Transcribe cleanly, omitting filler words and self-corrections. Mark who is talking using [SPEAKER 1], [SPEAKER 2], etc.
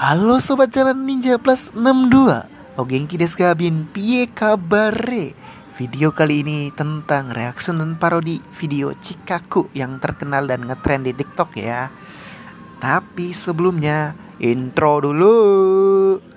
[SPEAKER 1] Halo Sobat Jalan Ninja Plus 62. O genki desu ka bin pie kabare. Video kali ini tentang reaction dan parodi video Chikaku yang terkenal dan ngetrend di TikTok ya. Tapi sebelumnya intro dulu.